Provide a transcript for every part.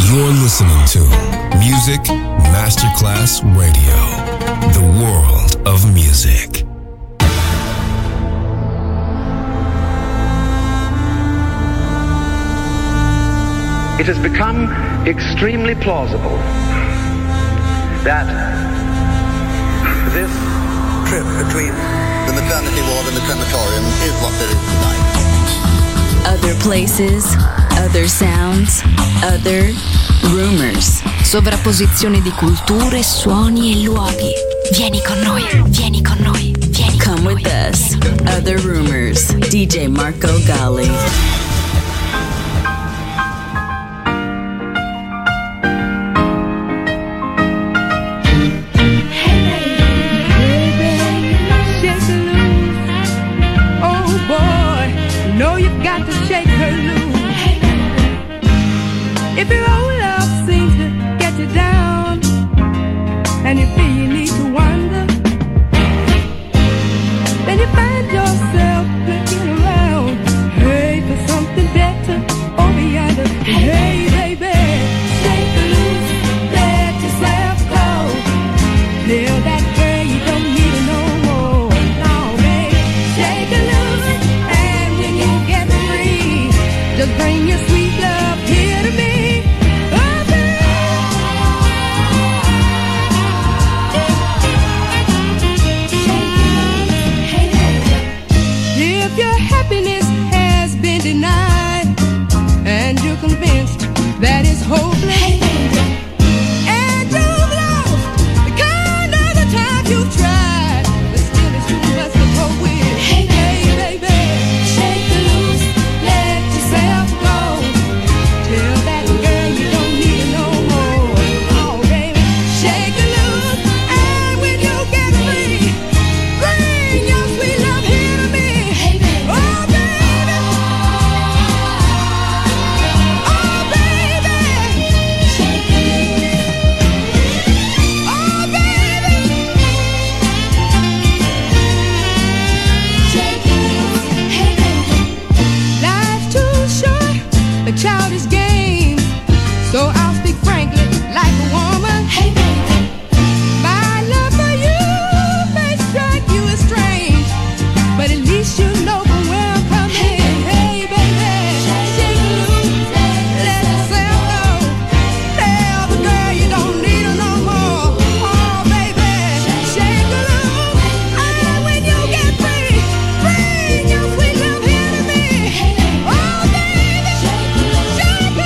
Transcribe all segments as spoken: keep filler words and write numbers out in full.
You're listening to Music Masterclass Radio, the world of music. It has become extremely plausible that this trip between the maternity ward and the crematorium is what there is tonight. Other places, other sounds, other rumors. Sovrapposizione di culture, suoni e luoghi. Vieni con noi, vieni con noi, vieni con noi. Come with us. Other Rumors. D J Marco Gally. If your old love seems to get you down and you feel you need to wander, then you find yourself looking around, hey, for something better over yonder. Hey, baby, shake loose, let yourself go. Tell that girl you don't need her no more. No, baby, shake loose, and when you get free, just bring your sweet love here to me. That is hopeless. Hey, and you've lost the kind of the time you've tried, but still it's too much to cope with. Hey, hey baby, shake loose, let yourself go. Tell that girl you don't need her no more. Oh, baby, shake loose, and when you get free, bring your sweet love here to me. Hey, baby. Oh, baby. Childish games, so I'll speak frankly like a woman. Hey baby, my love for you may strike you as strange, but at least you know from where I'm coming. Hey, hey baby, shake loose, let yourself go. Tell the girl you don't need her no more. Oh baby, shake loose, and when you get free, bring your sweet love here to me. Oh baby. Shake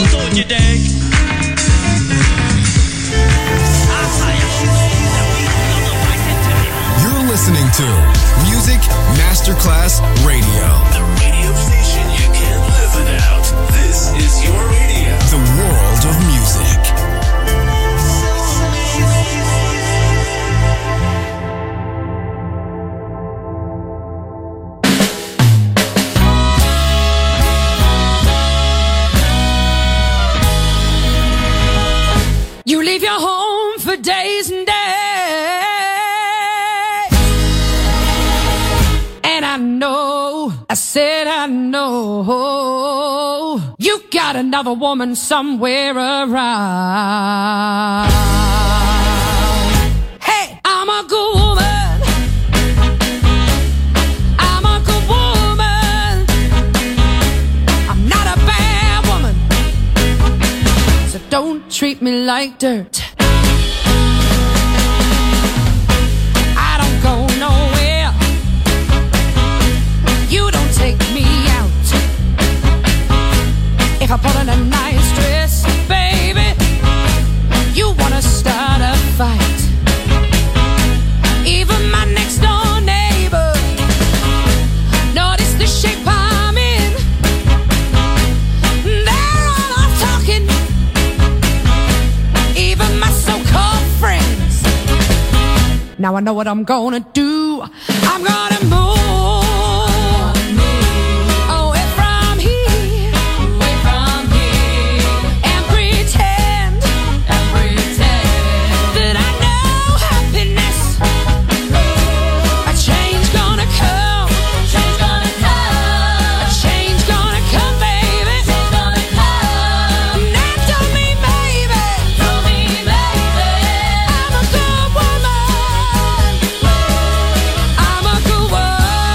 don't you dig? You're listening to Music Masterclass Radio. The radio station you can't live without. This is your radio. The world of music. You leave your home for days and days, and I know, I said I know, you got another woman somewhere around. Hey, I'm a good woman, I'm a good woman, I'm not a bad woman, so don't treat me like dirt. I don't go nowhere, you don't take me out. If I put on a nice dress, baby, you wanna start a fight. Even my next door neighbor noticed the shape I'm in. They're all off talking, even my so-called friends. Now I know what I'm gonna do. I'm gonna move away from here, away from here, and pretend, and pretend that I know happiness. A change gonna come, change gonna come, a change gonna come, baby. Change gonna come. Now tell me, baby, tell me, baby, I'm a good woman, I'm a good woman.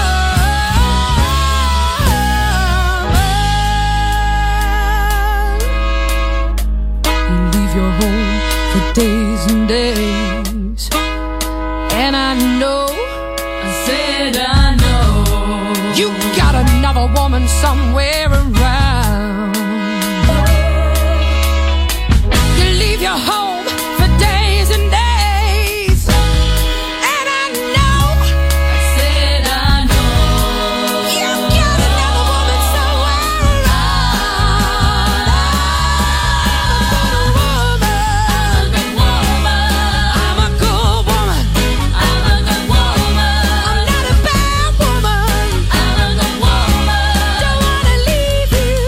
You leave your home for days and days, and I know, I said I know, you got another woman somewhere around. You leave your home for days and days, and I know, I said I know, you got another woman somewhere around. I'm a good woman, I'm a good woman, I'm a good woman, I'm not a bad woman, I'm a good woman, don't wanna leave you.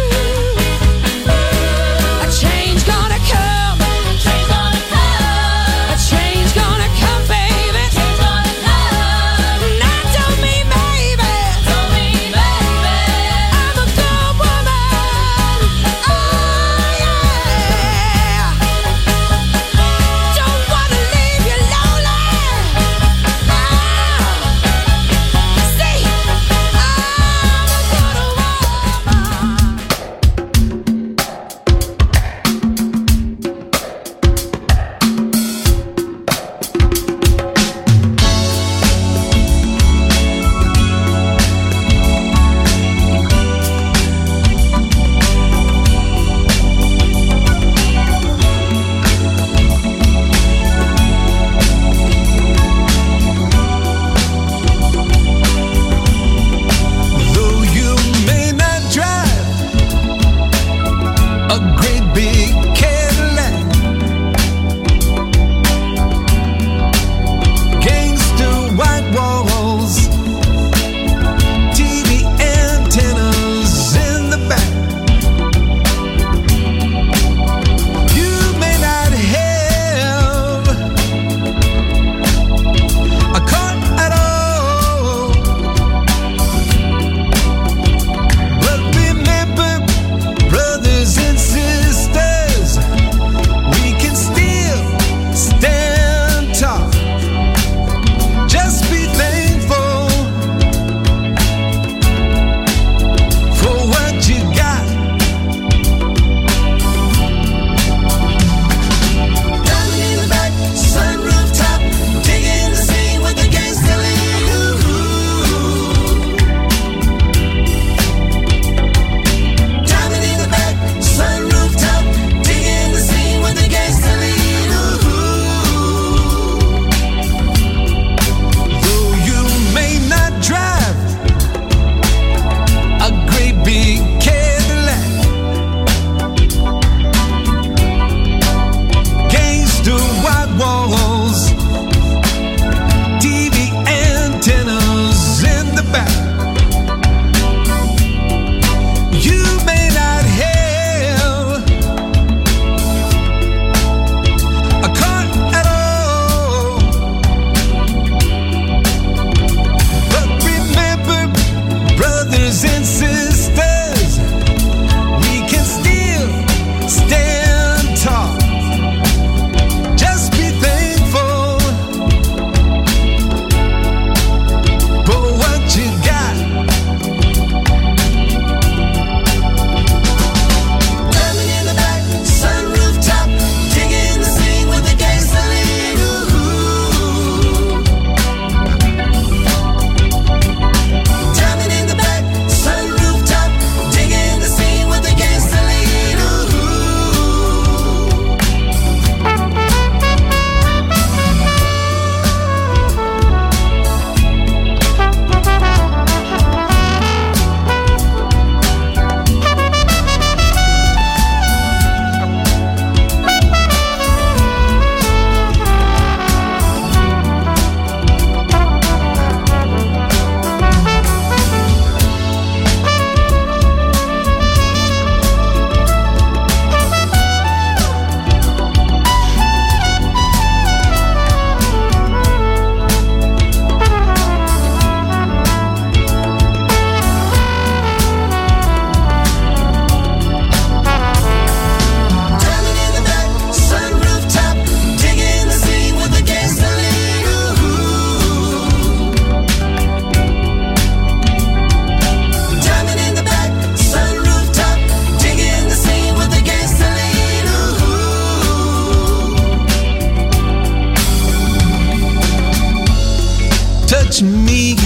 touch me.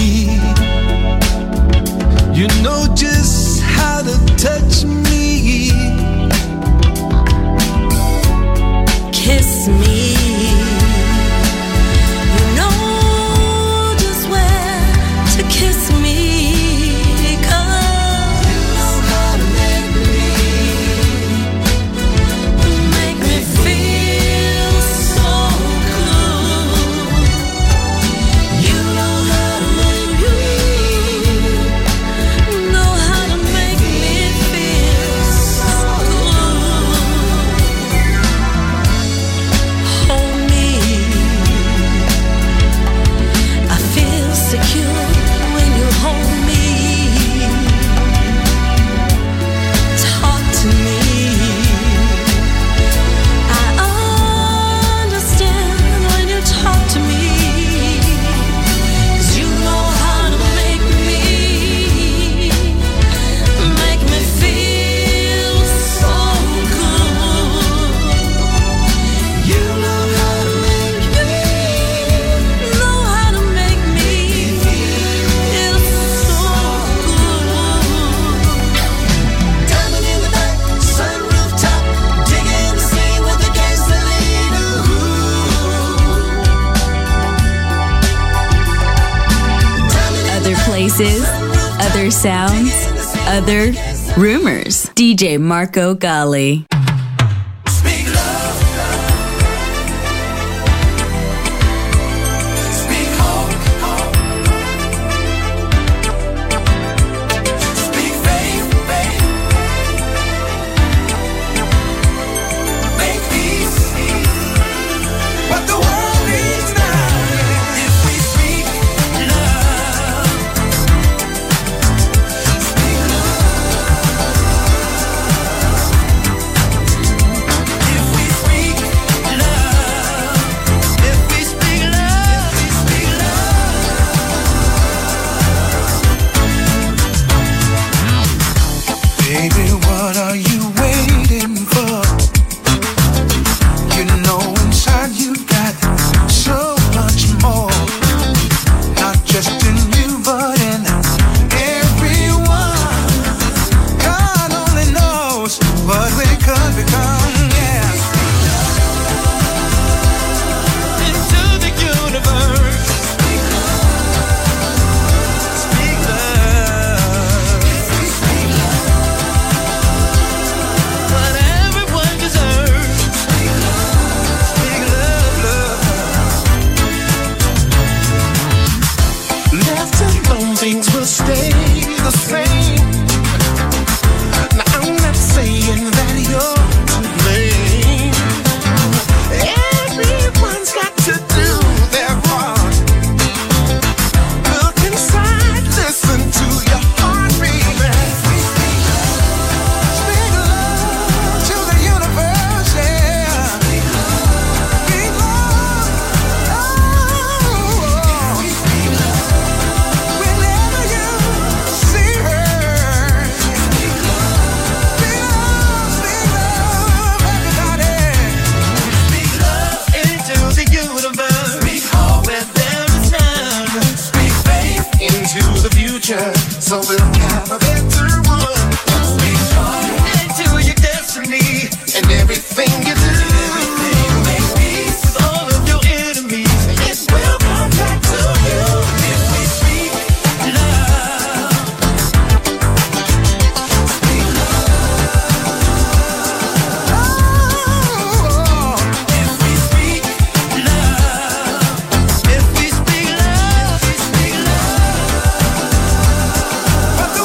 You know just how to touch me. Kiss me. You know just where to kiss me. 'Cause you know how to make me, make me feel so good. You know how to make me, know how to make me feel so good. Hold me, I feel secure when you hold me. Talk to me, I understand when you talk to me. 'Cause you know how to make me, make me feel so good. You know how to make me, know how to make me feel so good. Diamond in the night, sun rooftop, digging the scene with the gasoline. Other places, other sounds, other rumors. D J Marco Gally. Speak love, speak hope, speak faith, faith, make peace. What the world needs now. If we speak love, speak love. If we speak love, if we speak love, we speak love. Baby, what are you waiting for? You know inside you got so much more. Not just in you, but in everyone. God only knows what we could become, yeah. Into the universe. Speak love. Speak love. What everyone deserves. Speak love. Speak love, love. Left alone, things will stay the same. Now I'm not saying that you're to blame. Everyone's got to do their part. Look inside, listen to your heartbeat. Speak love to the universe, yeah. Speak love, oh. Whenever you see her, speak love, speak love, everybody. Speak love into the universe. Speak hope where there is none. Speak faith into the future, so we'll have a better one. Speak joy into your destiny and everything you do. Make peace with all of your enemies. It will come back to you. If we speak love, speak love. Oh, if we speak love, if we speak love, we speak love. But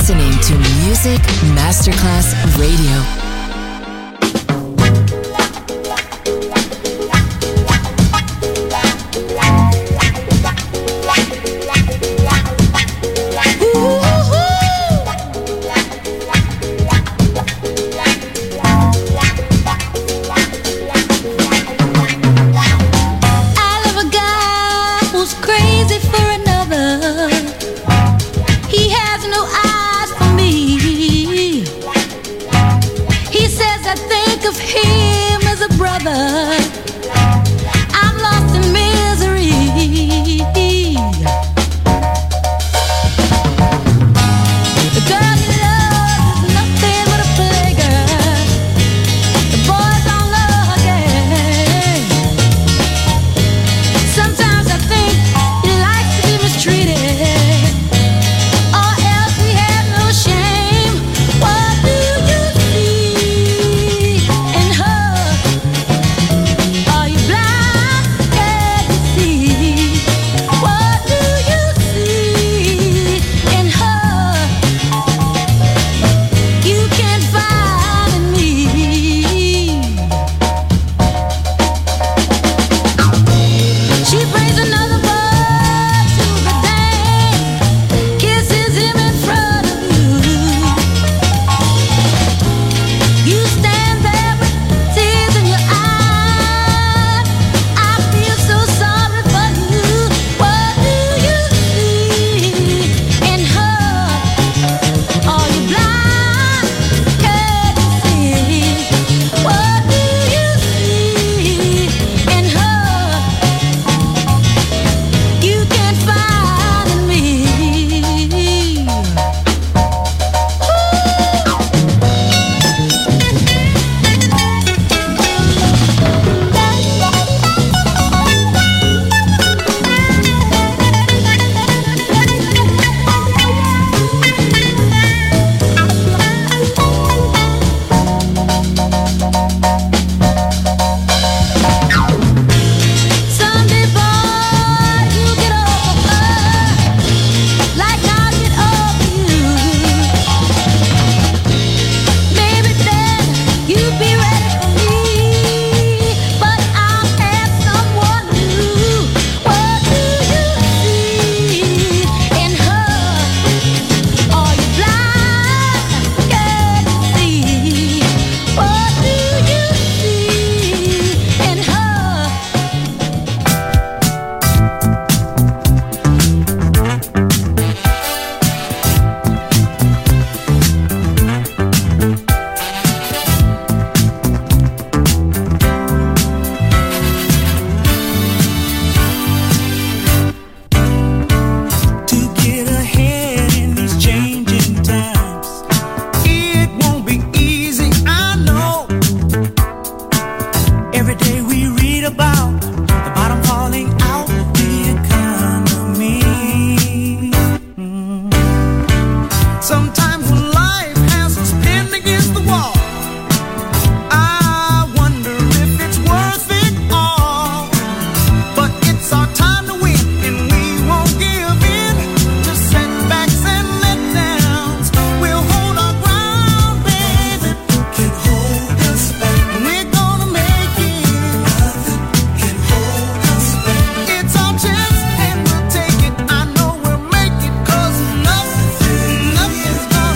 listening to Music Masterclass Radio. It's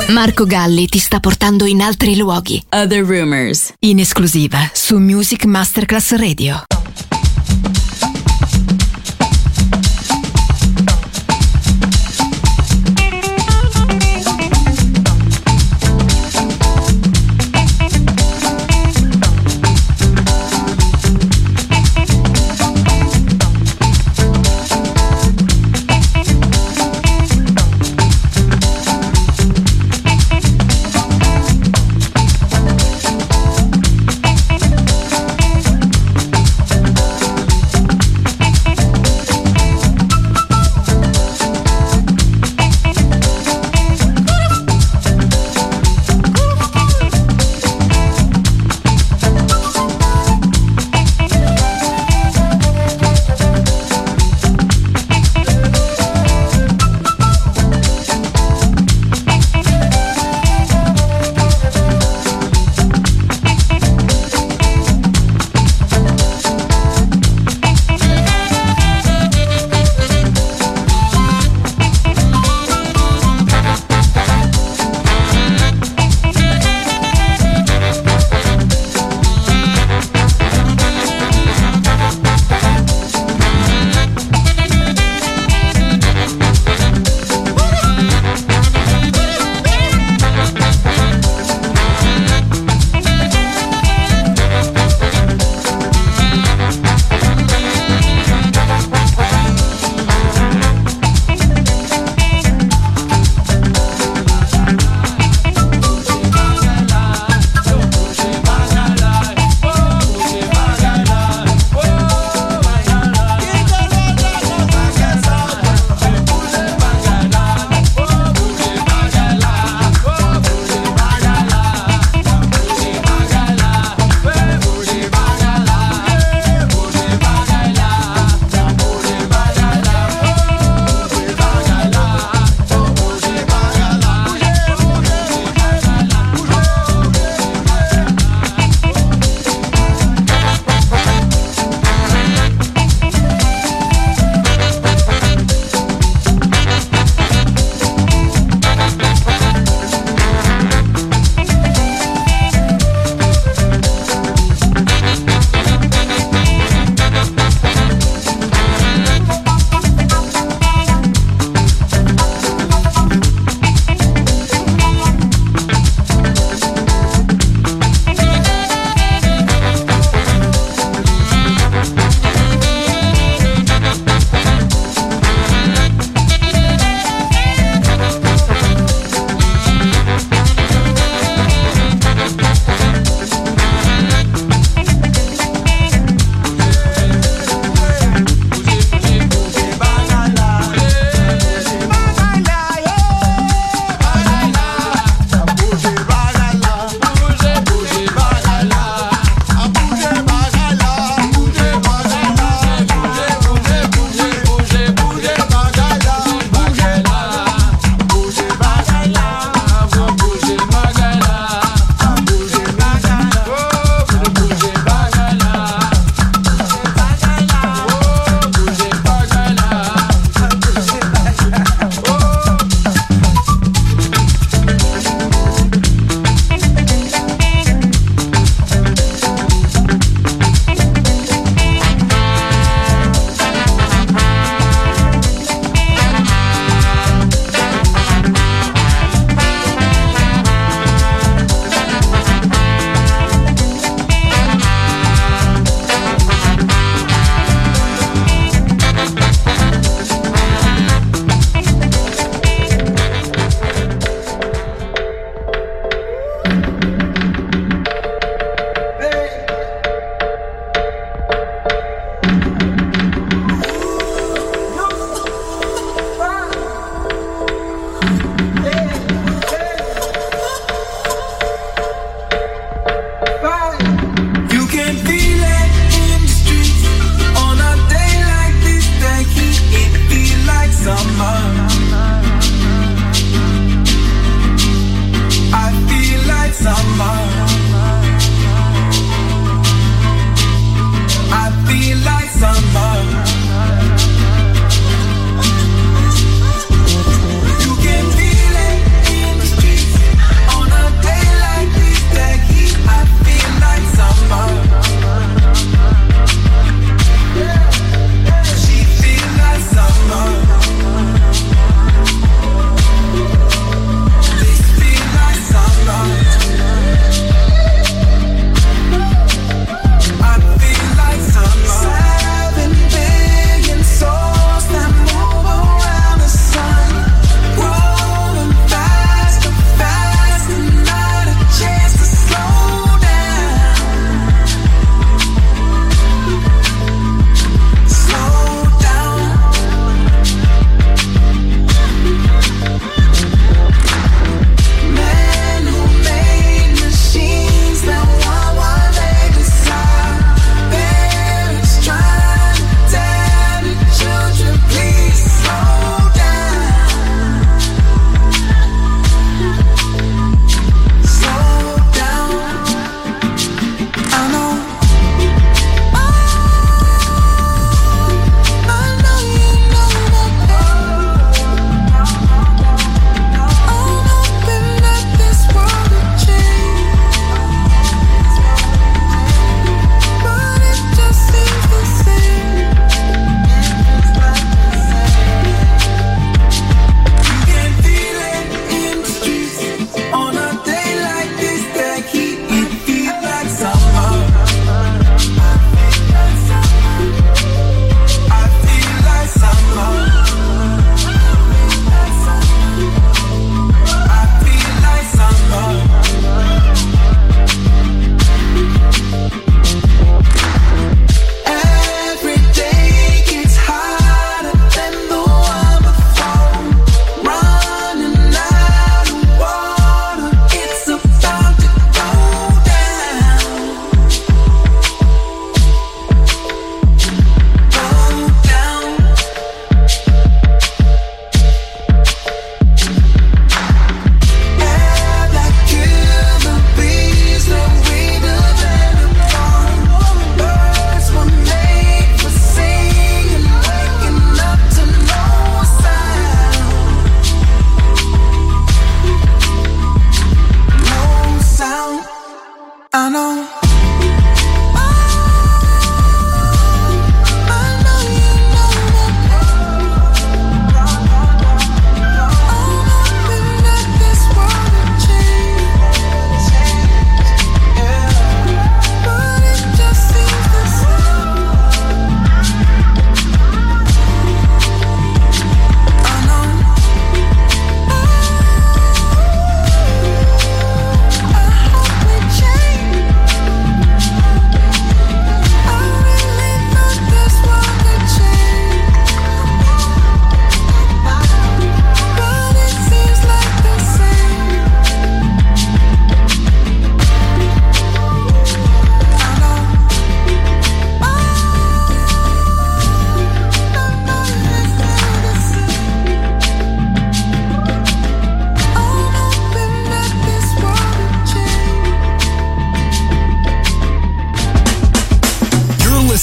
Marco Galli ti sta portando in altri luoghi. Other Rumors. In esclusiva su Music Masterclass Radio. Thank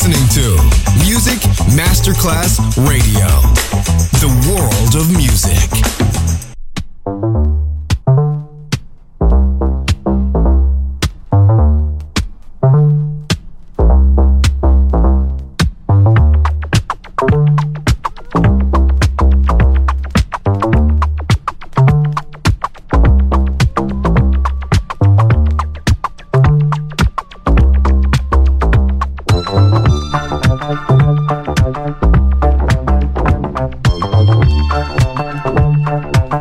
listening to Music Masterclass Radio, the world of music. Thank you.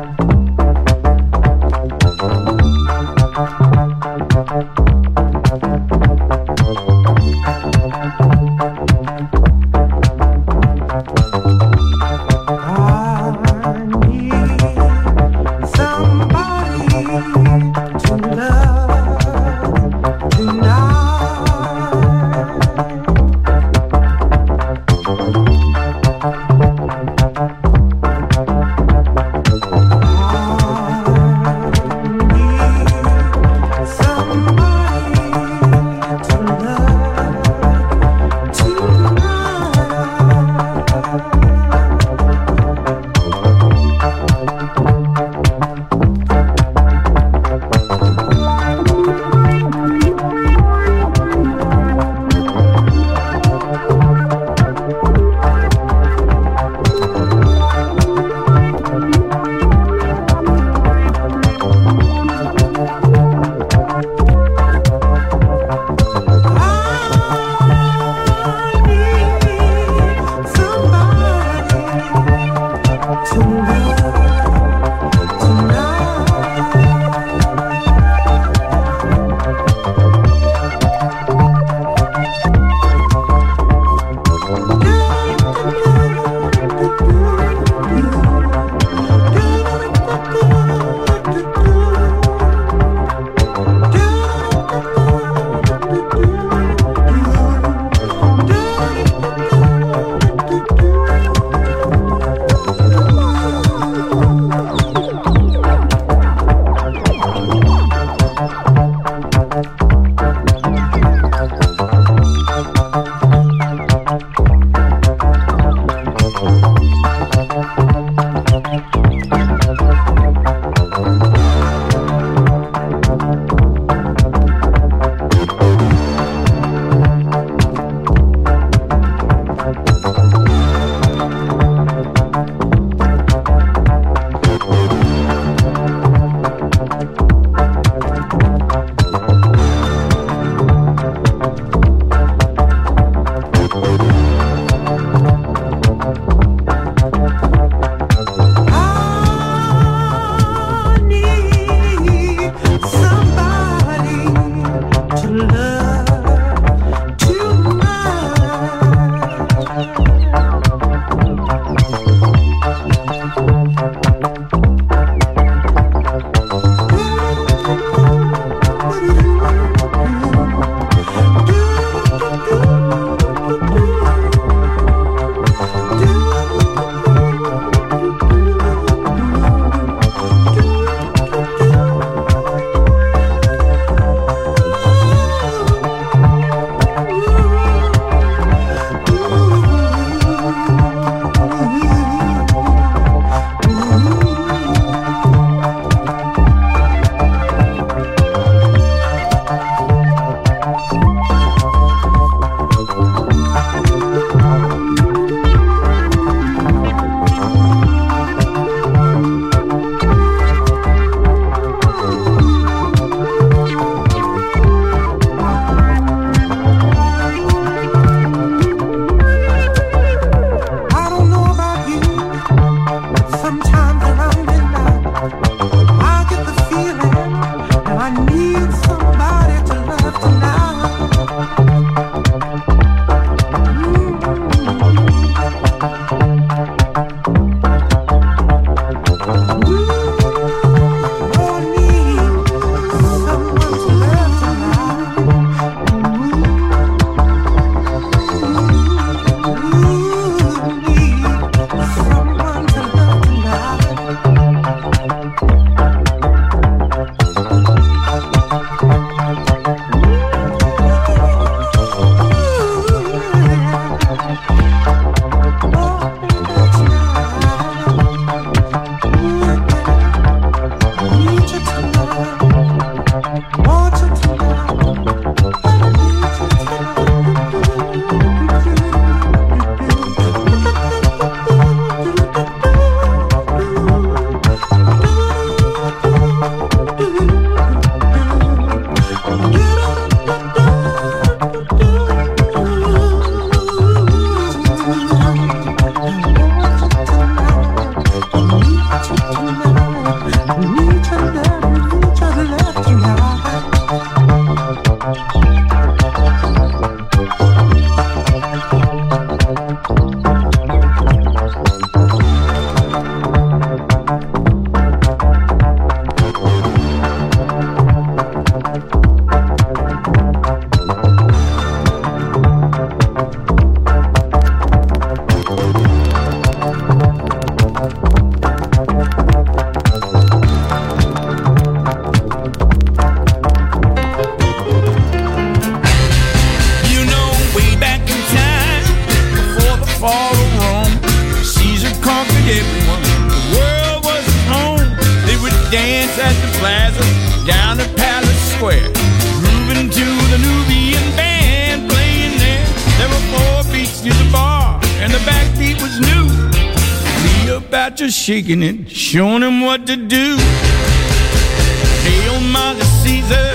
everyone. The world was at home. They would dance at the plaza, down at Palace Square, grooving to the Nubian band playing there. There were four beats to the bar, and the backbeat was new. Cleopatra shaking it, showing him what to do. Hail, Mighty Caesar.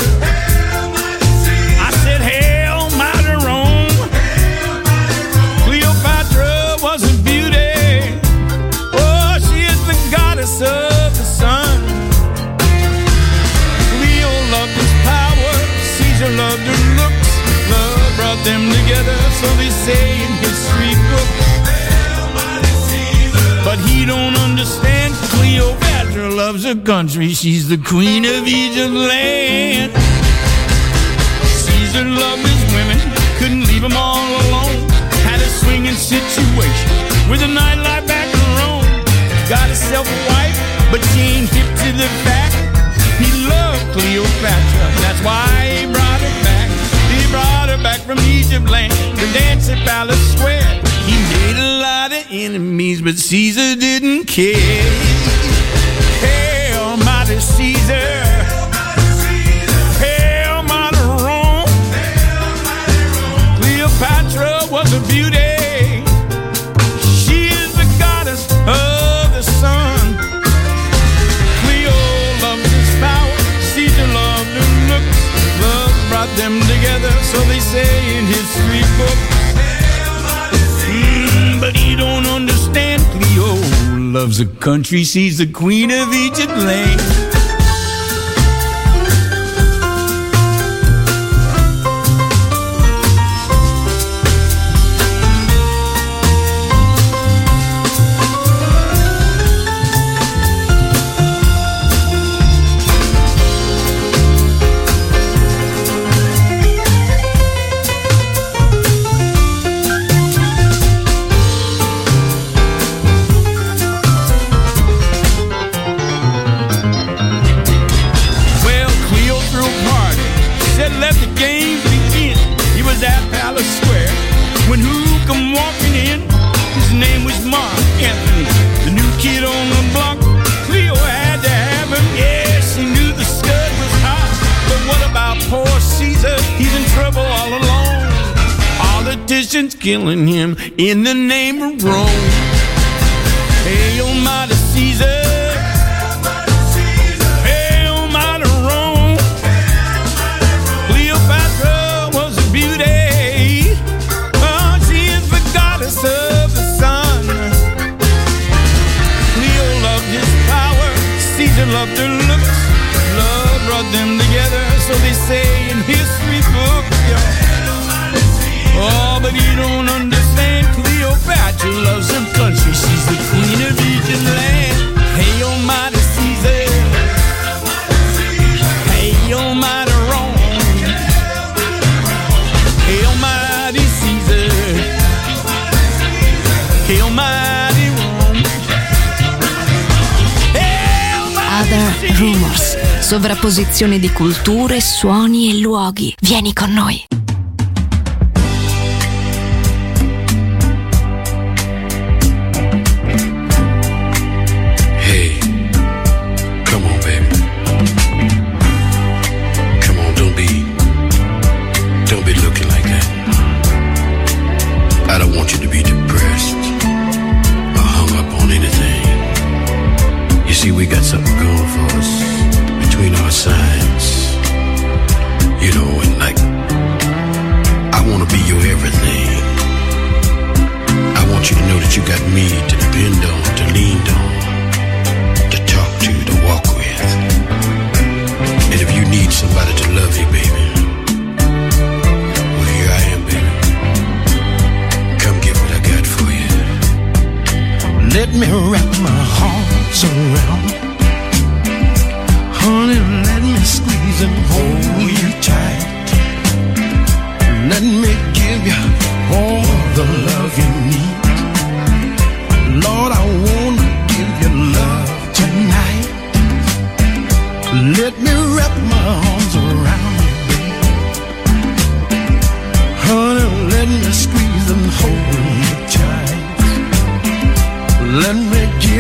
I said, Hail, Mighty Rome. Cleopatra was a beauty. Oh, she is the goddess of the sun. Cleo loved his power. Caesar loved her looks. Love brought them together, so they say in history books. But he don't understand. Cleopatra loves her country. She's the queen of Egypt land. Caesar loved his women, couldn't leave them all alone. Had a swinging situation with a nightlife back in Rome. Got himself a wife, but she ain't hip to the fact. He loved Cleopatra, that's why he brought her back. He brought her back from Egypt land to dance at Palace Square. He made a lot of enemies, but Caesar didn't care. Hail, Mighty Caesar. Hail, Mighty Rome. Cleopatra was a beauty. She is the goddess of the sun. Cleo loved his power. Caesar loved her looks. Love brought them together, so they say in history books. But he don't understand. Cleo loves the country. She's the queen of Egypt land. Killing him in the name of Rome. Hail, Mighty Caesar. Hail, Mighty Rome. Cleopatra was a beauty. Oh, she is the goddess of the sun. Cleo loved his power. Caesar loved her looks. Love brought them together, so they say in history books. Yeah. Oh, but you don't understand. Cleopatra loves her country. She's the queen of Egypt land. Hail, Mighty Caesar. Hail, Mighty Rome. Hail, Mighty Caesar. Hail, Mighty Rome. Other Rumors. Sovrapposizione di culture, suoni e luoghi. Vieni con noi. Let me wrap my arms around, honey, let me squeeze and hold you tight. Let me give you all the love you need. Lord, I wanna give you love tonight. Let me wrap my arms around you, baby. Honey, let me squeeze and hold you tight. Let me give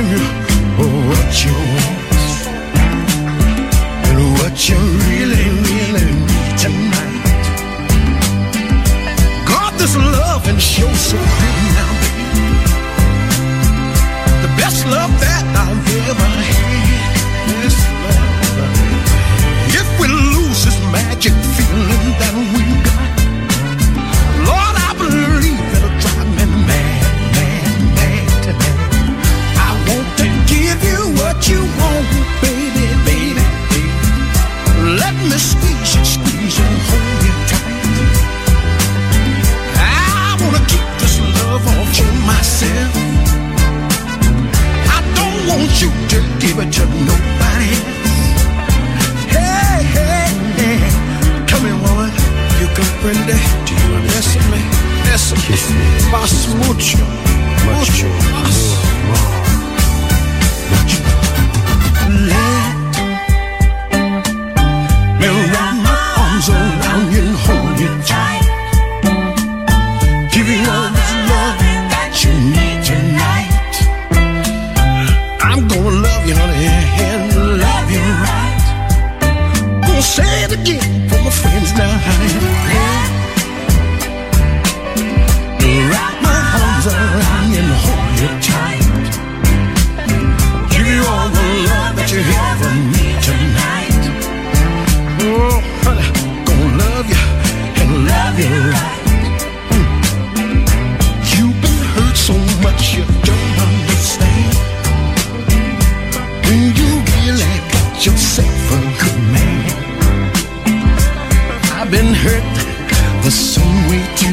más, mucho, mucho más. Mucho. Let me wrap my arms around you and hold you tight. Give you all this love that you need tonight. I'm gonna love you, honey, and love you right. Gonna say it again for my friends now, honey. Wrap my arms around you and hold you tight. Give you all the love that you ever need tonight. Oh, honey, gonna love you and love you right. You've been hurt so much you don't understand. When you really got yourself a good man. I've been hurt the same way too.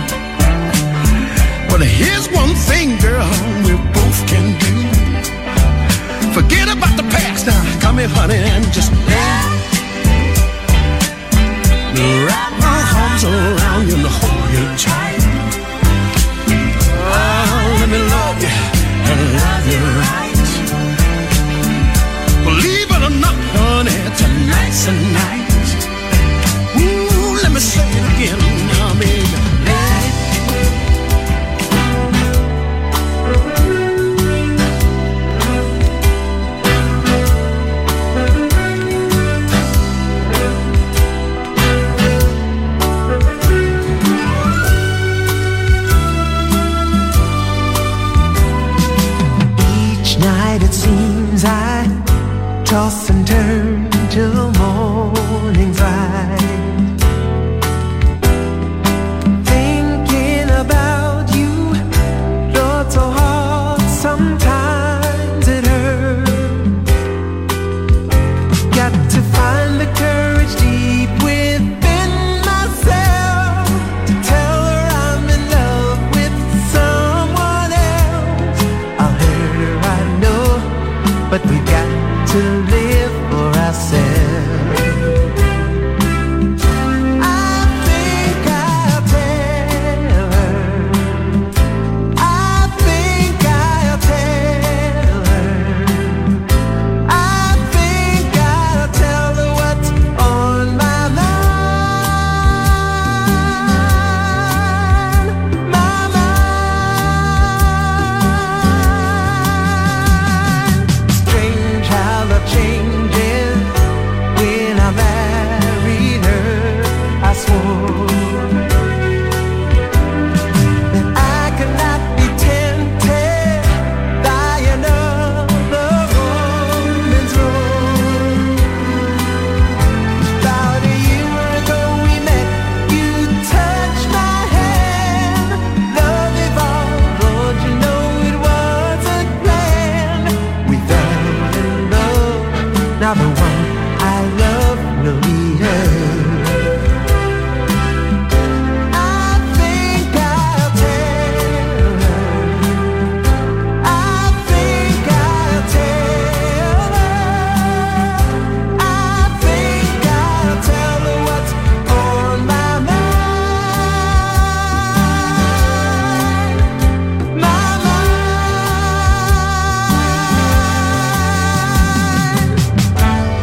But here's one thing, girl, we both can do. Forget about the past now, come here, honey, and just let me wrap my arms around you and hold you tight. Oh, let me love you and love you right. Believe it or not, honey, tonight's the night. Ooh, let me say it again now, baby. It seems I toss and turn till morning's light, thinking about you, Lord, so hard sometimes it hurts. Got to find the courage deep within myself to tell her I'm in love with someone else. I'll hurt her, I know, but we've got to live for ourselves. I think I'll tell her. I think I'll tell her. I think I'll tell her what's on my mind. My mind. Strange how love changes. When I married her, I swore that I could not be tempted by another woman's role. About a year ago we met, you touched my hand. Love evolved, Lord, you know it wasn't planned. We fell in love, now the one I love will be her. I think I'll tell her. I think I'll tell her. I think I'll tell her what's on my mind. My mind.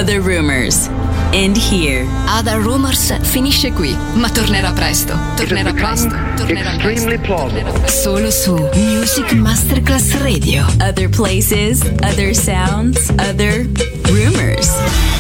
Other Rumors. And here. Other Rumors finisce qui, ma tornerà presto. Tornerà presto. Tornerà extremely plausible. Solo su Music Masterclass Radio. Other places, other sounds, other rumors.